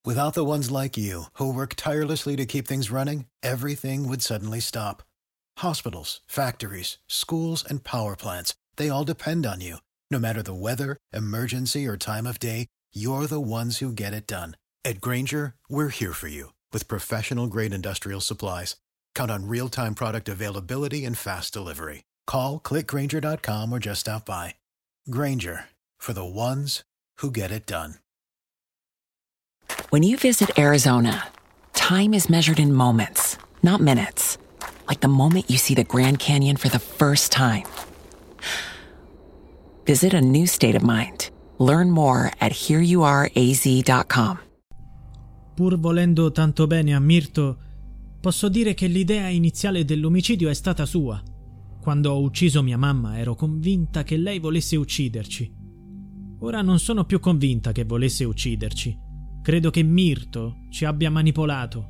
Without the ones like you, who work tirelessly to keep things running, everything would suddenly stop. Hospitals, factories, schools, and power plants, they all depend on you. No matter the weather, emergency, or time of day, you're the ones who get it done. At Grainger, we're here for you with professional-grade industrial supplies. Count on real-time product availability and fast delivery. Call, click Grainger.com, or just stop by. Grainger, for the ones who get it done. When you visit Arizona, time is measured in moments, not minutes. Like the moment you see the Grand Canyon for the first time. Visit a new state of mind. Learn more at hereyouareaz.com. Pur volendo tanto bene a Mirto, posso dire che l'idea iniziale dell'omicidio è stata sua. Quando ho ucciso mia mamma ero convinta che lei volesse ucciderci. Ora non sono più convinta che volesse ucciderci. Credo che Mirto ci abbia manipolato.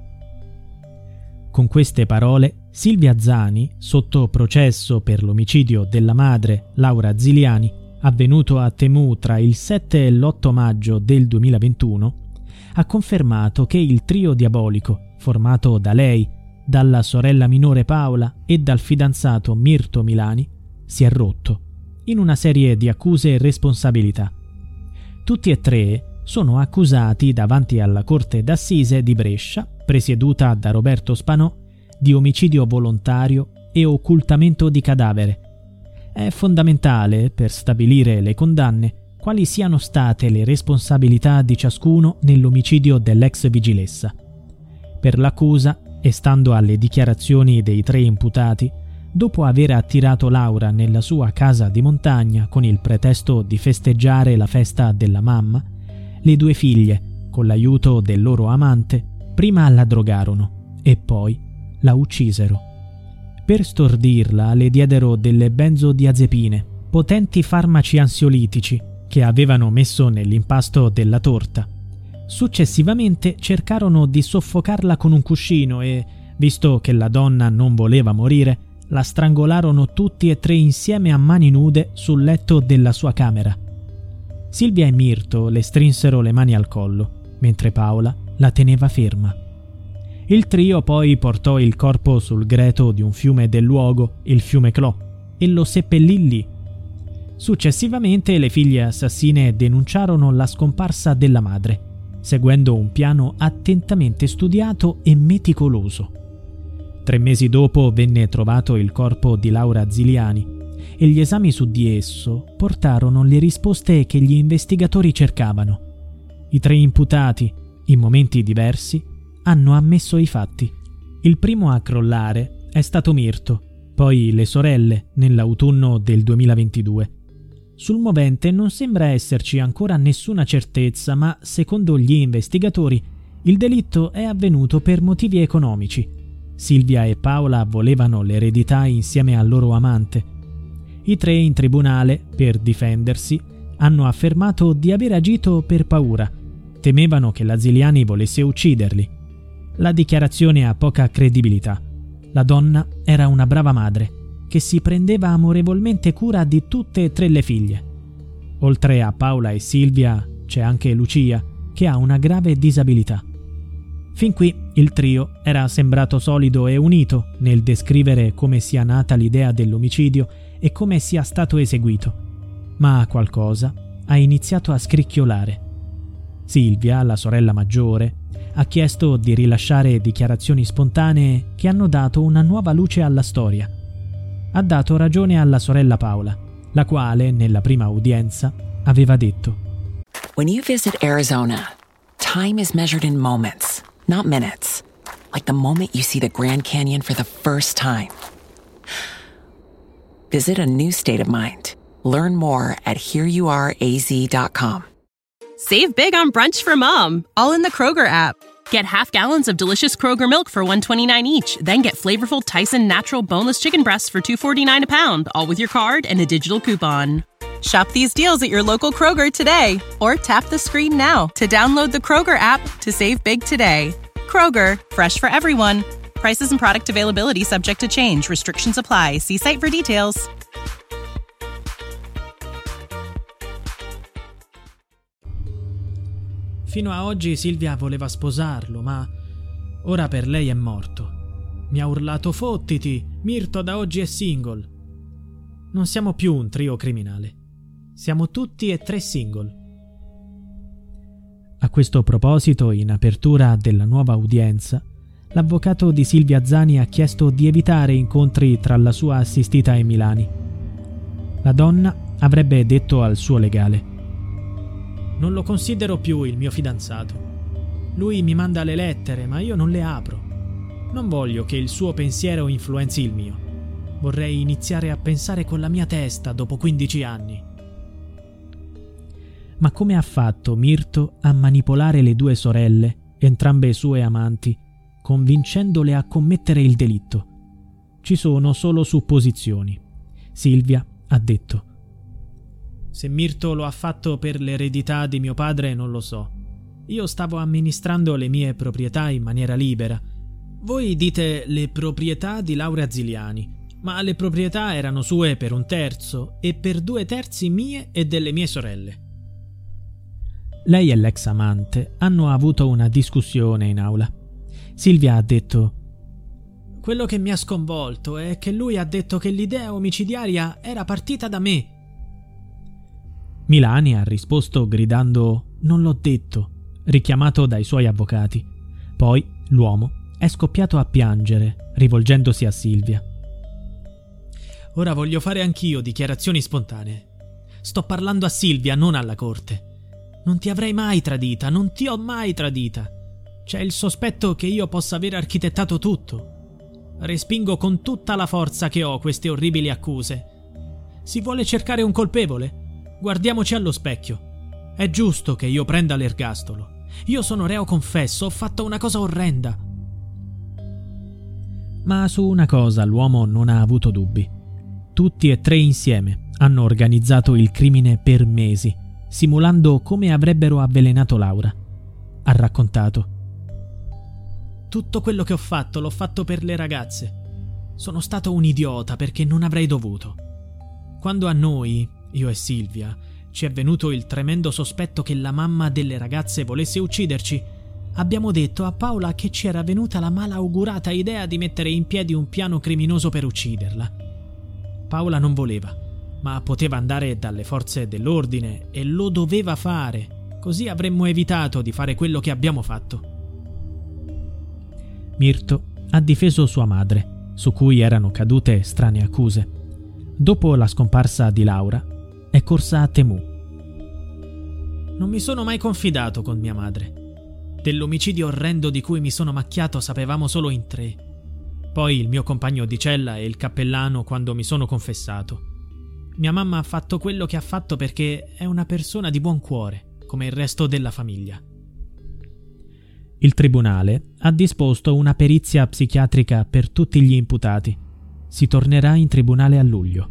Con queste parole, Silvia Zani, sotto processo per l'omicidio della madre, Laura Ziliani, avvenuto a Temu tra il 7 e l'8 maggio del 2021, ha confermato che il trio diabolico, formato da lei, dalla sorella minore Paola e dal fidanzato Mirto Milani, si è rotto, in una serie di accuse e responsabilità. Tutti e tre sono accusati davanti alla Corte d'Assise di Brescia, presieduta da Roberto Spanò, di omicidio volontario e occultamento di cadavere. È fondamentale, per stabilire le condanne, quali siano state le responsabilità di ciascuno nell'omicidio dell'ex vigilessa. Per l'accusa, e stando alle dichiarazioni dei tre imputati, dopo aver attirato Laura nella sua casa di montagna con il pretesto di festeggiare la festa della mamma, le due figlie, con l'aiuto del loro amante, prima la drogarono e poi la uccisero. Per stordirla le diedero delle benzodiazepine, potenti farmaci ansiolitici, che avevano messo nell'impasto della torta. Successivamente cercarono di soffocarla con un cuscino e, visto che la donna non voleva morire, la strangolarono tutti e tre insieme a mani nude sul letto della sua camera. Silvia e Mirto le strinsero le mani al collo, mentre Paola la teneva ferma. Il trio poi portò il corpo sul greto di un fiume del luogo, il fiume Clò, e lo seppellì lì. Successivamente le figlie assassine denunciarono la scomparsa della madre, seguendo un piano attentamente studiato e meticoloso. 3 mesi dopo venne trovato il corpo di Laura Ziliani e gli esami su di esso portarono le risposte che gli investigatori cercavano. I 3 imputati, in momenti diversi, hanno ammesso i fatti. Il primo a crollare è stato Mirto, poi le sorelle nell'autunno del 2022. Sul movente non sembra esserci ancora nessuna certezza, ma secondo gli investigatori il delitto è avvenuto per motivi economici. Silvia e Paola volevano l'eredità insieme al loro amante. I 3 in tribunale, per difendersi, hanno affermato di aver agito per paura. Temevano che la Ziliani volesse ucciderli. La dichiarazione ha poca credibilità. La donna era una brava madre, che si prendeva amorevolmente cura di tutte e 3 le figlie. Oltre a Paola e Silvia c'è anche Lucia, che ha una grave disabilità. Fin qui il trio era sembrato solido e unito nel descrivere come sia nata l'idea dell'omicidio e come sia stato eseguito, ma qualcosa ha iniziato a scricchiolare. Silvia, la sorella maggiore, ha chiesto di rilasciare dichiarazioni spontanee che hanno dato una nuova luce alla storia. Ha dato ragione alla sorella Paola, la quale, nella prima udienza, aveva detto: When you visit Arizona, time is measured in moments, not minutes. Like the moment you see the Grand Canyon for the first time. Visit a new state of mind. Learn more at hereyouareaz.com. Save big on brunch for mom, all in the Kroger app. Get half gallons of delicious Kroger milk for $1.29 each. Then get flavorful Tyson natural boneless chicken breasts for $2.49 a pound, all with your card and a digital coupon. Shop these deals at your local Kroger today, or tap the screen now to download the Kroger app to save big today. Kroger, fresh for everyone. Prices and product availability subject to change. Restrictions apply. See site for details. Fino a oggi Silvia voleva sposarlo, ma ora per lei è morto. Mi ha urlato: fottiti, Mirto da oggi è single. Non siamo più un trio criminale. Siamo tutti e 3 single. A questo proposito, in apertura della nuova udienza, l'avvocato di Silvia Zani ha chiesto di evitare incontri tra la sua assistita e Milani. La donna avrebbe detto al suo legale: non lo considero più il mio fidanzato. Lui mi manda le lettere, ma io non le apro. Non voglio che il suo pensiero influenzi il mio. Vorrei iniziare a pensare con la mia testa dopo 15 anni. Ma come ha fatto Mirto a manipolare le 2 sorelle, entrambe sue amanti, convincendole a commettere il delitto? Ci sono solo supposizioni. Silvia ha detto: se Mirto lo ha fatto per l'eredità di mio padre non lo so. Io stavo amministrando le mie proprietà in maniera libera. Voi dite le proprietà di Laura Ziliani, ma le proprietà erano sue per 1/3 e per 2/3 mie e delle mie sorelle. Lei e l'ex amante hanno avuto una discussione in aula. Silvia ha detto: quello che mi ha sconvolto è che lui ha detto che l'idea omicidiaria era partita da me. Milani ha risposto gridando: non l'ho detto, richiamato dai suoi avvocati. Poi l'uomo è scoppiato a piangere, rivolgendosi a Silvia. Ora voglio fare anch'io dichiarazioni spontanee. Sto parlando a Silvia, non alla corte. Non ti avrei mai tradita, non ti ho mai tradita. C'è il sospetto che io possa aver architettato tutto. Respingo con tutta la forza che ho queste orribili accuse. Si vuole cercare un colpevole? Guardiamoci allo specchio. È giusto che io prenda l'ergastolo. Io sono reo confesso, ho fatto una cosa orrenda. Ma su una cosa l'uomo non ha avuto dubbi. Tutti e 3 insieme hanno organizzato il crimine per mesi, simulando come avrebbero avvelenato Laura. Ha raccontato: tutto quello che ho fatto l'ho fatto per le ragazze. Sono stato un idiota perché non avrei dovuto. Quando a noi, io e Silvia, ci è venuto il tremendo sospetto che la mamma delle ragazze volesse ucciderci, abbiamo detto a Paola che ci era venuta la malaugurata idea di mettere in piedi un piano criminoso per ucciderla. Paola non voleva, ma poteva andare dalle forze dell'ordine e lo doveva fare, così avremmo evitato di fare quello che abbiamo fatto. Mirto ha difeso sua madre, su cui erano cadute strane accuse. Dopo la scomparsa di Laura, è corsa a Temu. Non mi sono mai confidato con mia madre. Dell'omicidio orrendo di cui mi sono macchiato sapevamo solo in 3. Poi il mio compagno di cella e il cappellano quando mi sono confessato. Mia mamma ha fatto quello che ha fatto perché è una persona di buon cuore, come il resto della famiglia. Il tribunale ha disposto una perizia psichiatrica per tutti gli imputati. Si tornerà in tribunale a luglio.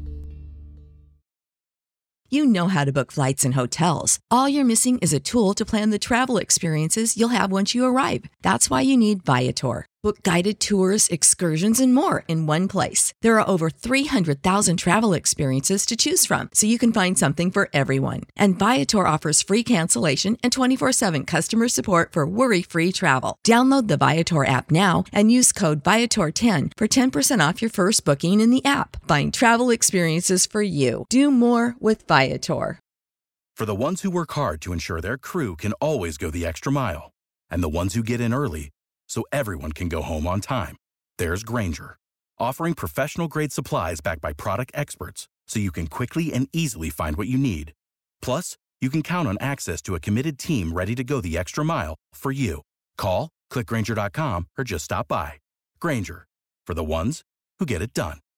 You know how to book flights and hotels. All you're missing is a tool to plan the travel experiences you'll have once you arrive. That's why you need Viator. Book guided tours, excursions, and more in one place. There are over 300,000 travel experiences to choose from, so you can find something for everyone. And Viator offers free cancellation and 24/7 customer support for worry-free travel. Download the Viator app now and use code Viator10 for 10% off your first booking in the app. Find travel experiences for you. Do more with Viator. For the ones who work hard to ensure their crew can always go the extra mile, and the ones who get in early so everyone can go home on time, there's Grainger, offering professional-grade supplies backed by product experts so you can quickly and easily find what you need. Plus, you can count on access to a committed team ready to go the extra mile for you. Call, click Grainger.com, or just stop by. Grainger, for the ones who get it done.